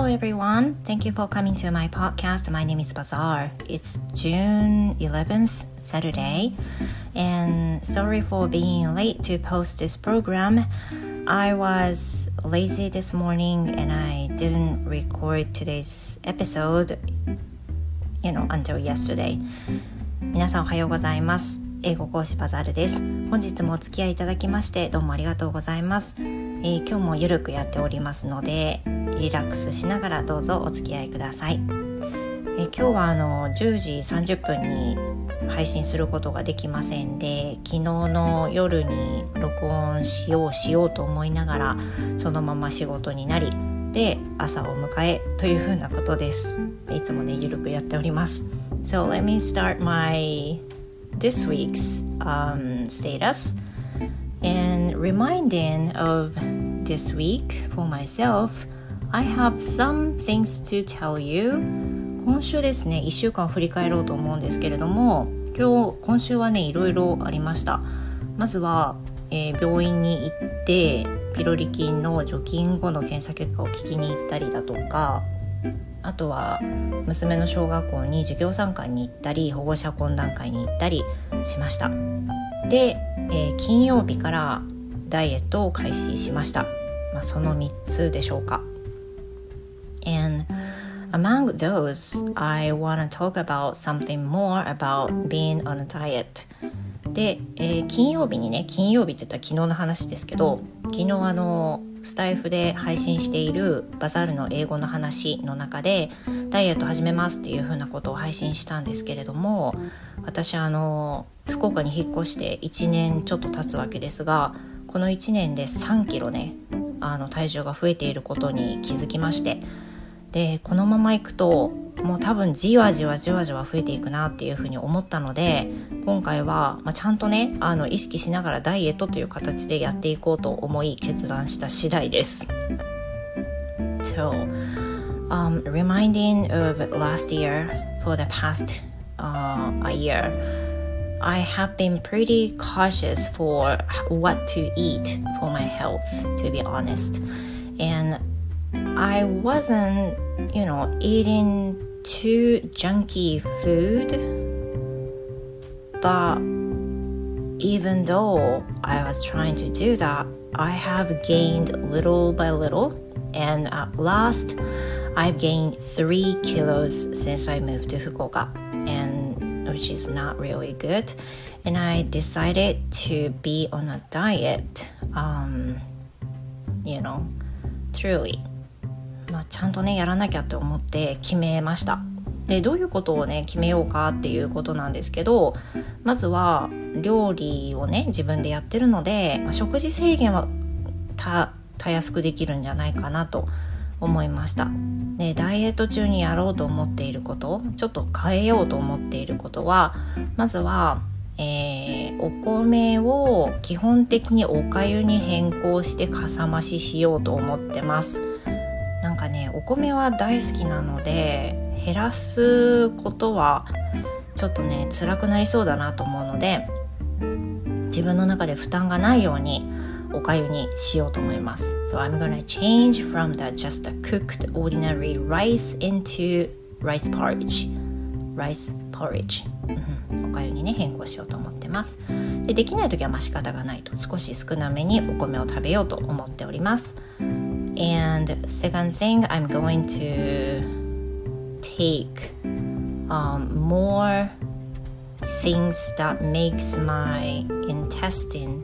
everyone. Thank you for coming to my podcast. My name is Bazaar. It's June 11th, Saturday. And sorry for being late to post this program. I was lazy this morning and I didn't record today's episode, until yesterday. 皆さんおはようございます。英語講師バザールです。本日もお付き合いいただきましてどうもありがとうございます。今日もゆるくやっておりますのでリラックスしながらどうぞお付き合いください。今日は10時30分に配信することができませんで、昨日の夜に録音しようと思いながらそのまま仕事になりで朝を迎えというふうなことです。いつもねゆるくやっております。So let me start this week's status and reminding of this week for myself. I have some things to tell you. 今週ですね1週間を振り返ろうと思うんですけれども、今週はねいろいろありました。まずは、病院に行ってピロリ菌の除菌後の検査結果を聞きに行ったりだとか、あとは娘の小学校に授業参観に行ったり保護者懇談会に行ったりしました。で、金曜日からダイエットを開始しました。その3つでしょうか。And among those, I want to talk about something more about being on a diet. で、金曜日って言ったら昨日の話ですけど、昨日スタイフで配信しているバザールの英語の話の中でダイエット始めますっていう風なことを配信したんですけれども、私福岡に引っ越して1年ちょっと経つわけですが、この1年で3キロね体重が増えていることに気づきまして、でこのままいくともう多分じわじわ増えていくなっていうふうに思ったので、今回は、ちゃんとね意識しながらダイエットという形でやっていこうと思い決断した次第です。So, reminding of last year for the past a year, I have been pretty cautious for what to eat for my health, to be honest. And I wasn't, eating too junky food, but even though I was trying to do that, I have gained little by little, and at last, I've gained 3 kilos since I moved to Fukuoka, and which is not really good. And I decided to be on a diet, truly.ちゃんとねやらなきゃって思って決めました。でどういうことをね決めようかっていうことなんですけど、まずは料理をね自分でやってるので、食事制限はたやすくできるんじゃないかなと思いました。でダイエット中にやろうと思っていること、ちょっと変えようと思っていることは、まずはお米を基本的にお粥に変更してかさ増ししようと思ってます。なんかねお米は大好きなので減らすことはちょっとね辛くなりそうだなと思うので、自分の中で負担がないようにお粥にしようと思います。 So I'm gonna change from just a cooked ordinary rice into rice porridge お粥にね変更しようと思ってます。できないときは仕方がないと少し少なめにお米を食べようと思っております。And second thing, I'm going to take more things that makes my intestine,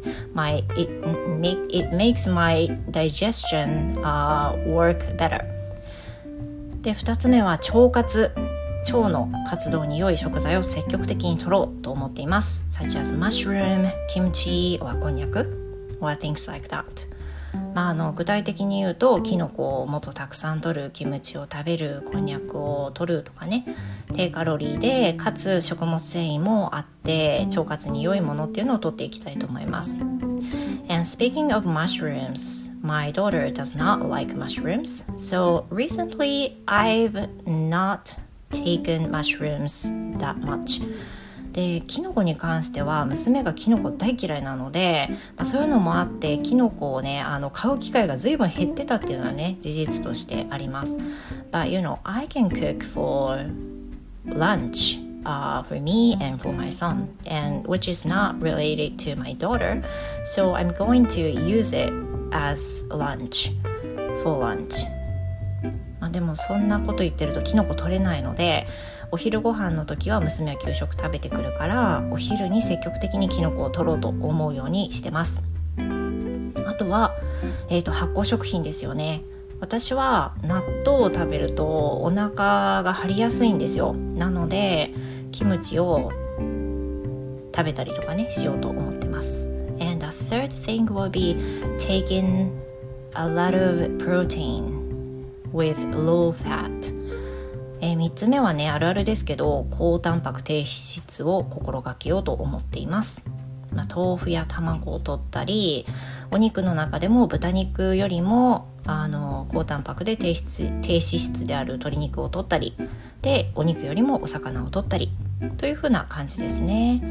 it makes my digestion work better. で2つ目は腸の活動に良い食材を積極的に摂ろうと思っています。such as mushroom, kimchi, or こんにゃく or things like that.具体的に言うとキノコをもっとたくさん摂る、キムチを食べる、こんにゃくを摂るとかね、低カロリーでかつ食物繊維もあって腸活に良いものっていうのを摂っていきたいと思います。 And speaking of mushrooms, my daughter does not like mushrooms, so recently I've not taken mushrooms that much. でキノコに関しては娘がキノコ大嫌いなので、そういうのもあってキノコをね買う機会が随分減ってたっていうのはね事実としてあります。 But you know, I can cook for lunch、for me and for my son, and which is not related to my daughter, so I'm going to use it as lunch for lunch。でもそんなこと言ってるとキノコ取れないので、お昼ご飯の時は娘は給食食べてくるから、お昼に積極的にキノコを取ろうと思うようにしてます。あとは、発酵食品ですよね。私は納豆を食べるとお腹が張りやすいんですよ。なのでキムチを食べたりとかねしようと思ってます。 And the third thing will be taking a lot of protein with low fat。3つ目はねあるあるですけど、高タンパク低脂質を心がけようと思っています。豆腐や卵を取ったり、お肉の中でも豚肉よりも高タンパクで低脂質である鶏肉を取ったりで、お肉よりもお魚を取ったりという風な感じですね。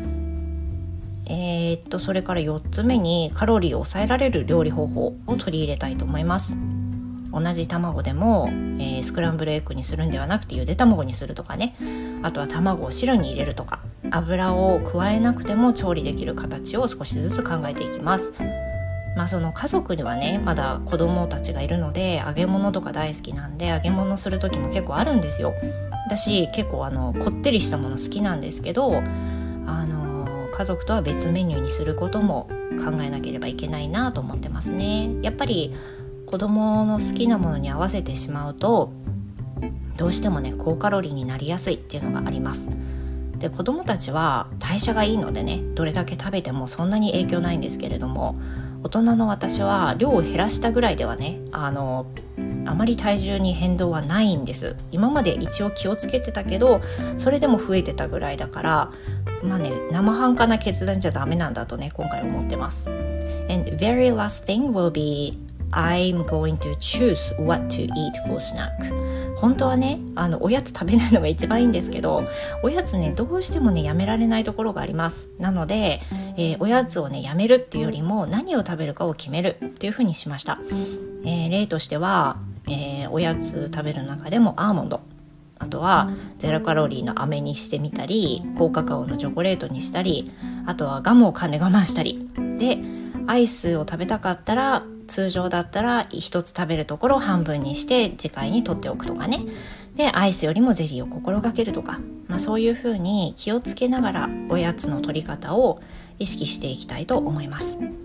それから4つ目にカロリーを抑えられる料理方法を取り入れたいと思います。同じ卵でも、スクランブルエッグにするんではなくてゆで卵にするとかね、あとは卵を汁に入れるとか、油を加えなくても調理できる形を少しずつ考えていきます。その家族にはねまだ子供たちがいるので、揚げ物とか大好きなんで揚げ物する時も結構あるんですよ。私結構こってりしたもの好きなんですけど、家族とは別メニューにすることも考えなければいけないなと思ってますね。やっぱり子供の好きなものに合わせてしまうとどうしてもね高カロリーになりやすいっていうのがあります。で子供たちは代謝がいいのでね、どれだけ食べてもそんなに影響ないんですけれども、大人の私は量を減らしたぐらいではねあまり体重に変動はないんです。今まで一応気をつけてたけどそれでも増えてたぐらいだから、生半可な決断じゃダメなんだとね今回思ってます。 And very last thing will be I'm going to choose what to eat for snack。 本当はねおやつ食べないのが一番いいんですけど、おやつねどうしてもねやめられないところがあります。なので、おやつをねやめるっていうよりも何を食べるかを決めるっていう風にしました。例としては、おやつ食べる中でもアーモンド、あとはゼロカロリーの飴にしてみたり、高カカオのチョコレートにしたり、あとはガムを噛んで我慢したりで、アイスを食べたかったら通常だったら1つ食べるところを半分にして次回に取っておくとかね。でアイスよりもゼリーを心がけるとか、そういう風に気をつけながらおやつの取り方を意識していきたいと思います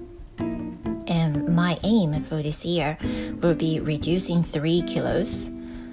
。And my aim for this year will be reducing 3 kilos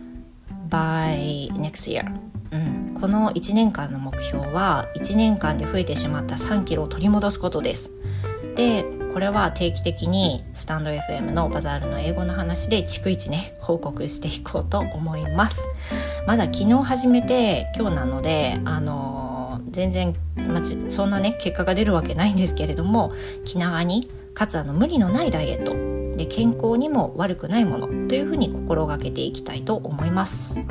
by next year。この1年間の目標は1年間で増えてしまった3キロを取り戻すことです。でこれは定期的にスタンド FM のバザールの英語の話で逐一ね報告していこうと思います。まだ昨日始めて今日なので全然、そんなね結果が出るわけないんですけれども、気長にかつ無理のないダイエットで健康にも悪くないものというふうに心がけていきたいと思います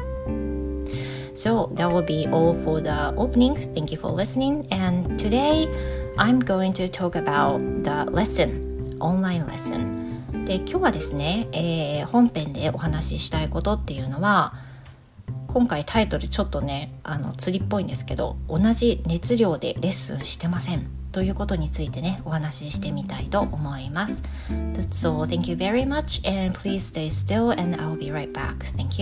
。So that will be all for the opening. Thank you for listening. And today I'm going to talk about the lesson, online lesson. で今日はですね、本編でお話ししたいことっていうのは、今回タイトルちょっとね釣りっぽいんですけど、同じ熱量でレッスンしてませんということについてねお話ししてみたいと思います。So thank you very much and please stay still and I'll be right back. Thank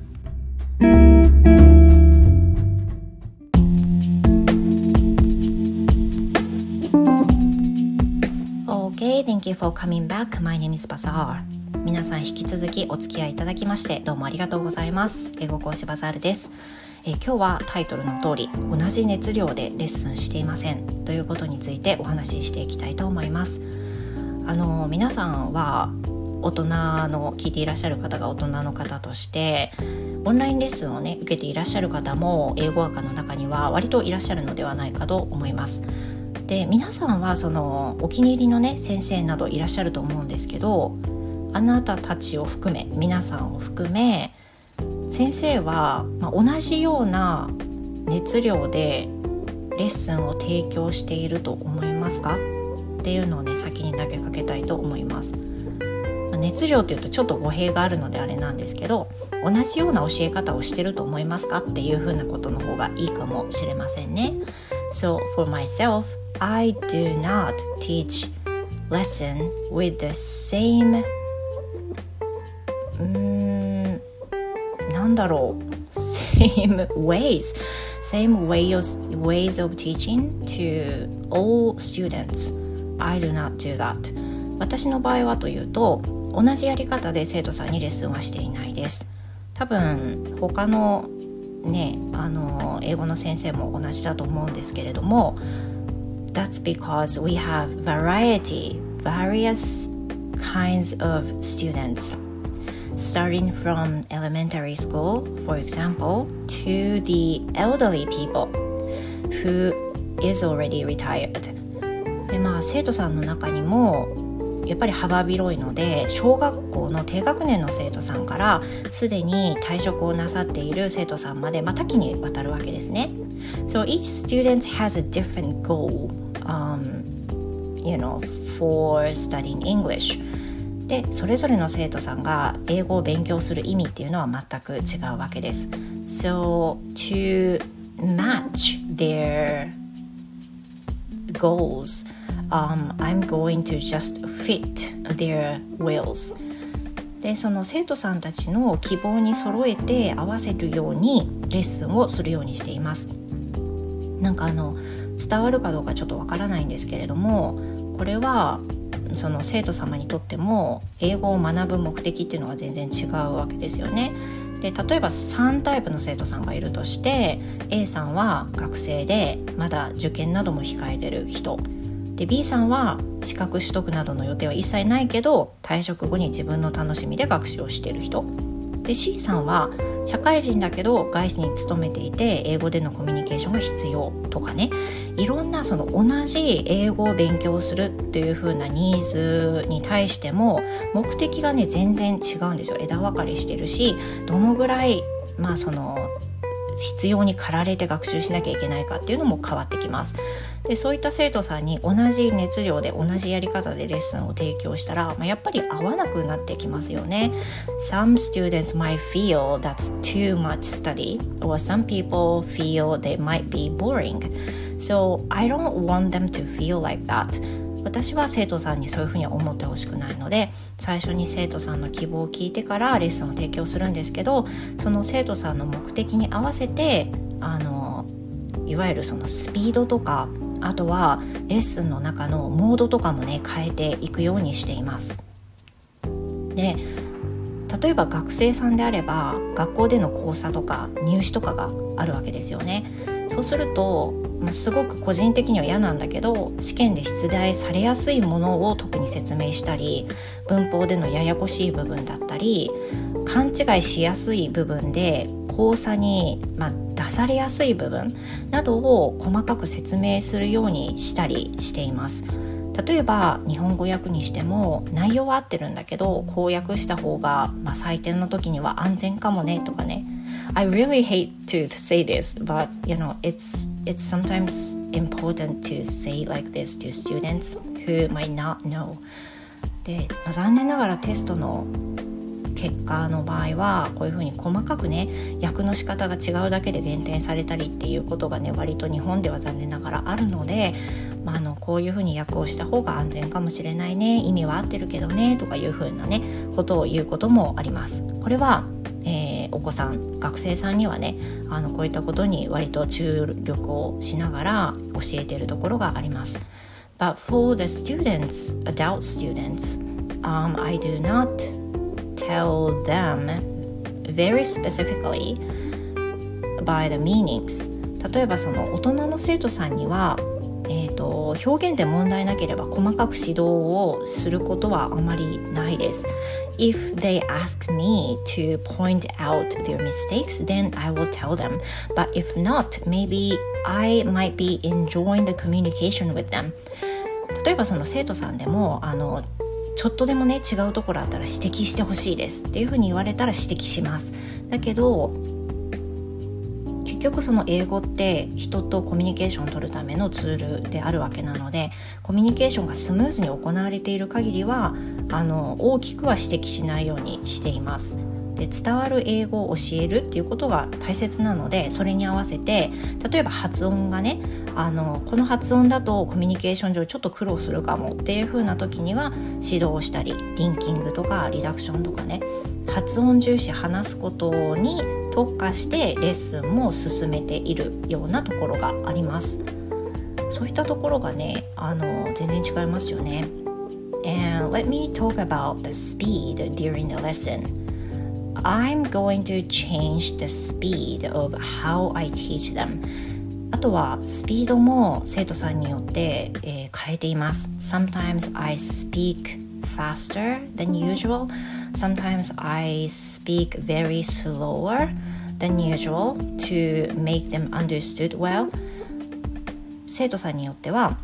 you.Okay, thank you for coming back. My name is Bazaar. 皆さん引き続きお付き合いいただきましてどうもありがとうございます。英語講師バザールです。今日はタイトルの通り同じ熱量でレッスンしていませんということについてお話ししていきたいと思います。皆さんは大人の聞いていらっしゃる方が大人の方としてオンラインレッスンをね受けていらっしゃる方も英語学の中には割といらっしゃるのではないかと思います。で皆さんはそのお気に入りのね先生などいらっしゃると思うんですけど、あなたたちを含め皆さんを含め先生は、同じような熱量でレッスンを提供していると思いますかっていうのをね先に投げかけたいと思います。熱量っていうとちょっと語弊があるのであれなんですけど、同じような教え方をしてると思いますかっていうふうなことの方がいいかもしれませんね。So for myself, I do not teach lesson with the same なんだろう same ways of teaching to all students. I do not do that. 私の場合はというと、同じやり方で生徒さんにレッスンはしていないです。多分他のね、英語の先生も同じだと思うんですけれども、 That's because we have various kinds of students, starting from elementary school, for example, to the elderly people who is already retired. で生徒さんの中にもやっぱり幅広いので、小学校の低学年の生徒さんからすでに退職をなさっている生徒さんまで、多岐にわたるわけですね。So each student has a different goal, for studying English. で、それぞれの生徒さんが英語を勉強する意味っていうのは全く違うわけです。So to match their goals,I'm going to just fit their wills. で、その生徒さんたちの希望に揃えて合わせるようにレッスンをするようにしています。なんか伝わるかどうかちょっとわからないんですけれども、これはその生徒様にとっても英語を学ぶ目的っていうのは全然違うわけですよね。で、例えば3タイプの生徒さんがいるとして、 A さんは学生でまだ受験なども控えてる人で、 B さんは資格取得などの予定は一切ないけど退職後に自分の楽しみで学習をしている人で、 C さんは社会人だけど外資に勤めていて英語でのコミュニケーションが必要とかね、いろんなその同じ英語を勉強するっていう風なニーズに対しても目的がね全然違うんですよ。枝分かれしてるし、どのぐらいその必要に駆られて学習しなきゃいけないかっていうのも変わってきます。で、そういった生徒さんに同じ熱量で同じやり方でレッスンを提供したら、やっぱり合わなくなってきますよね。 Some students might feel that's too much study, or some people feel they might be boring. So I don't want them to feel like that. 私は生徒さんにそういうふうに思ってほしくないので、最初に生徒さんの希望を聞いてからレッスンを提供するんですけど、その生徒さんの目的に合わせていわゆるそのスピードとか、あとはレッスンの中のモードとかもね変えていくようにしています。で、例えば学生さんであれば学校での講座とか入試とかがあるわけですよね。そうすると、すごく個人的には嫌なんだけど、試験で出題されやすいものを特に説明したり、文法でのややこしい部分だったり、勘違いしやすい部分で講座に、出されやすい部分などを細かく説明するようにしたりしています。例えば日本語訳にしても内容は合ってるんだけど、こう訳した方が、採点の時には安全かもねとかね。I really hate to say this, but it's sometimes important to say like this to students who might not know. で、残念ながらテストの結果の場合はこういうふうに細かくね訳の仕方が違うだけで減点されたりっていうことがね割と日本では残念ながらあるので、こういうふうに訳をした方が安全かもしれないね、意味は合ってるけどねとかいうふうなねことを言うこともあります。これは、お子さん学生さんにはねこういったことに割と注力をしながら教えているところがあります。But for the students, adult students, I do not tell them very specifically by the meanings. 例えばその大人の生徒さんには、表現で問題なければ細かく指導をすることはあまりないです。If they ask me to point out their mistakes, then I will tell them. But if not, maybe I might be enjoying the communication with them. 例えばその生徒さんでもちょっとでもね違うところあったら指摘してほしいですっていうふうに言われたら指摘します。だけど結結局その英語って人とコミュニケーションを取るためのツールであるわけなので、コミュニケーションがスムーズに行われている限りは大きくは指摘しないようにしています。で、伝わる英語を教えるっていうことが大切なので、それに合わせて例えば発音がねこの発音だとコミュニケーション上ちょっと苦労するかもっていう風な時には指導をしたり、リンキングとかリダクションとかね、発音重視話すことに特化してレッスンも進めているようなところがあります。そういったところがね全然違いますよね。 And let me talk about the speed during the lesson.I'm going to change the speed of how I teach them. あとはスピードも生徒さんによって、変えています。Sometimes I speak faster than usual. Sometimes I speak very slower than usual to make them understood well. 生徒さんによっては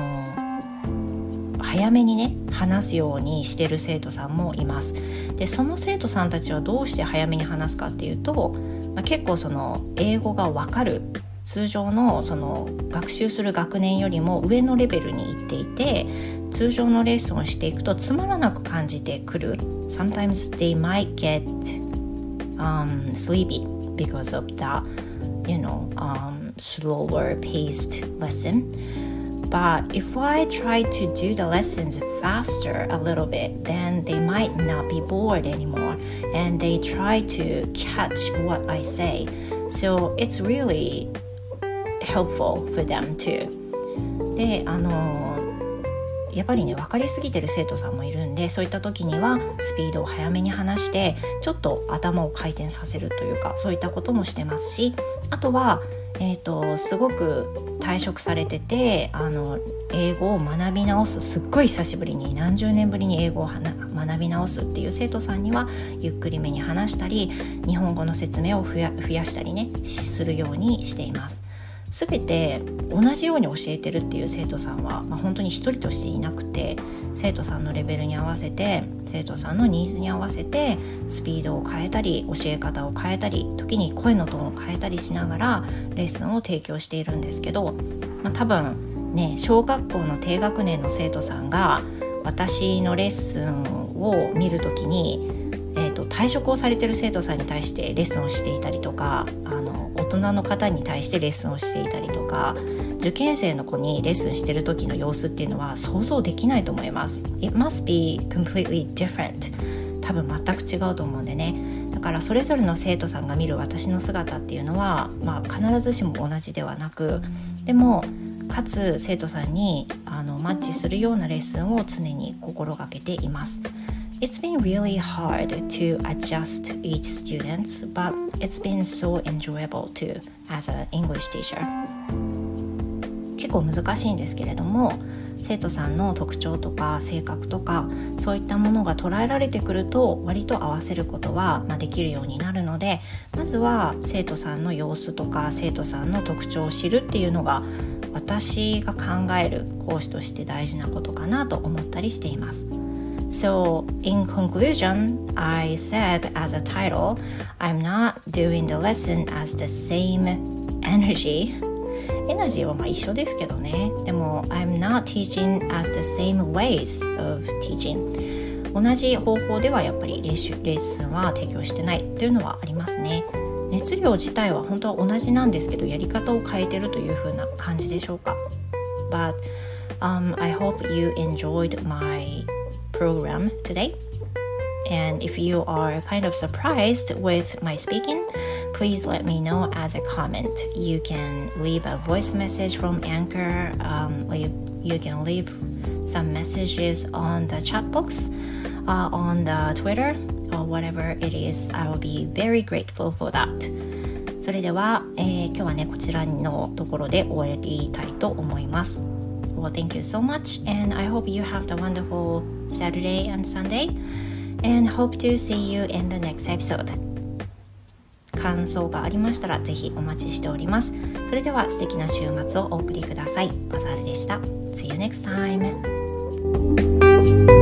早めにね話すようにしてる生徒さんもいます。で、その生徒さんたちはどうして早めに話すかっていうと、結構その英語が分かる通常のその学習する学年よりも上のレベルに行っていて、通常のレッスンをしていくとつまらなく感じてくる。 Sometimes they might get sleepy because of the slower paced lesson.But if I try to do the lessons faster a little bit, then they might not be bored anymore, and they try to catch what I say. So it's really helpful for them too. で、やっぱりね分かりすぎてる生徒さんもいるんで、そういった時にはスピードを早めに話してちょっと頭を回転させるというか、そういったこともしてますし、あとはすごく退職されてて英語を学び直す、すっごい久しぶりに何十年ぶりに英語を学び直すっていう生徒さんにはゆっくりめに話したり、日本語の説明を増やしたりねするようにしています。すべて同じように教えてるっていう生徒さんは、本当に一人としていなくて、生徒さんのレベルに合わせて、生徒さんのニーズに合わせてスピードを変えたり、教え方を変えたり、時に声のトーンを変えたりしながらレッスンを提供しているんですけど、多分ね、小学校の低学年の生徒さんが私のレッスンを見るときに、退職をされている生徒さんに対してレッスンをしていたりとか、大人の方に対してレッスンをしていたりとか、受験生の子にレッスンしている時の様子っていうのは想像できないと思います。 It must be completely different. 多分全く違うと思うんでね。だからそれぞれの生徒さんが見る私の姿っていうのは、必ずしも同じではなく、でもかつ生徒さんにマッチするようなレッスンを常に心がけています。It's been really hard to adjust each student, but it's been so enjoyable too as an English teacher. 結構難しいんですけれども、生徒さんの特徴とか性格とかそういったものが捉えられてくると割と合わせることはできるようになるので、まずは生徒さんの様子とか生徒さんの特徴を知るっていうのが私が考える講師として大事なことかなと思ったりしています。So, in conclusion, I said as a title, I'm not doing the lesson as the same energy. エナジーは一緒ですけどね。でも、I'm not teaching as the same ways of teaching. 同じ方法ではやっぱりレッスンは提供してないというのはありますね。熱量自体は本当は同じなんですけど、やり方を変えてるという風な感じでしょうか。But, I hope you enjoyed my program today, and if you are kind of surprised with my speaking, please let me know as a comment. You can leave a voice message from Anchor, you can leave some messages on the chat box, on the Twitter or whatever it is. I will be very grateful for that. それでは、今日はねこちらのところで終わりたいと思います。Well, thank you so much, and I hope you have a wonderful Saturday and Sunday, and hope to see you in the next episode. 感想がありましたらぜひお待ちしております。それでは素敵な週末をお送りください。バザールでした。See you next time.